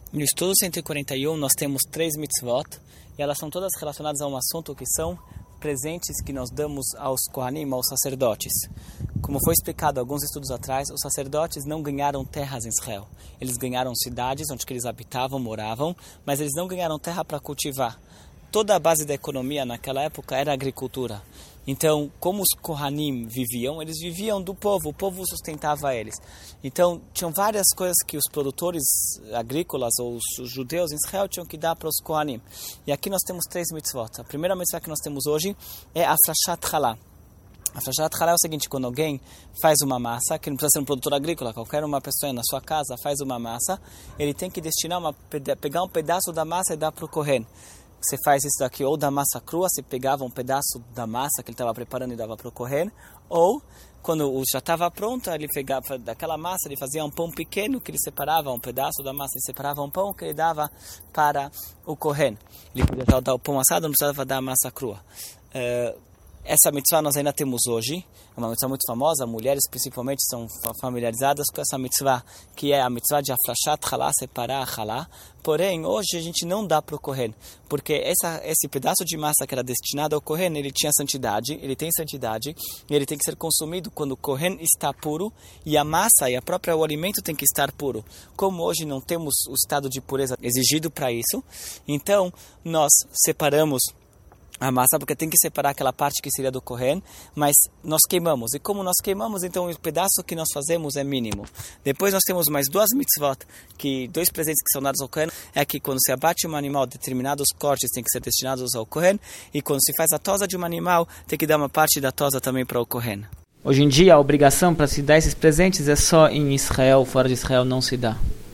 No estudo 141 nós temos 3 mitzvot e elas são todas relacionadas a um assunto que são presentes que nós damos aos Kohanim, aos sacerdotes. Como foi explicado alguns estudos atrás, os sacerdotes não ganharam terras em Israel. Eles ganharam cidades onde eles habitavam, moravam, mas eles não ganharam terra para cultivar. Toda a base da economia naquela época era a agricultura. Então, como os Kohanim viviam, eles viviam do povo, o povo sustentava eles. Então, tinham várias coisas que os produtores agrícolas ou os judeus em Israel tinham que dar para os Kohanim. E aqui nós temos 3 mitzvot. A primeira mitzvah que nós temos hoje é a Afrashat Chalá. A Afrashat Chalá é o seguinte: quando alguém faz uma massa, que não precisa ser um produtor agrícola, qualquer uma pessoa na sua casa faz uma massa, ele tem que destinar pegar um pedaço da massa e dar para o Kohen. Você faz isso daqui ou da massa crua, você pegava um pedaço da massa que ele estava preparando e dava para o Kohen, ou quando já estava pronto, ele pegava daquela massa, ele fazia um pão pequeno que ele separava, um pedaço da massa e separava um pão que ele dava para o Kohen. Ele podia já dar o pão assado, não precisava dar a massa crua. Essa mitzvah nós ainda temos hoje, é uma mitzvah muito famosa, mulheres principalmente são familiarizadas com essa mitzvah, que é a mitzvah de Afrashat Chalá, separar a Chalá. Porém, hoje a gente não dá para o Kohen, porque esse pedaço de massa que era destinado ao Kohen, ele tinha santidade, ele tem santidade, e ele tem que ser consumido quando o Kohen está puro, e a massa e o alimento tem que estar puro. Como hoje não temos o estado de pureza exigido para isso, então nós separamos a massa, porque tem que separar aquela parte que seria do Kohen, mas nós queimamos. E como nós queimamos, então o pedaço que nós fazemos é mínimo. Depois nós temos mais 2 mitzvot, 2 presentes que são dados ao Kohen, é que quando se abate um animal, determinados cortes têm que ser destinados ao Kohen, e quando se faz a tosa de um animal, tem que dar uma parte da tosa também para o Kohen. Hoje em dia, a obrigação para se dar esses presentes é só em Israel, fora de Israel não se dá.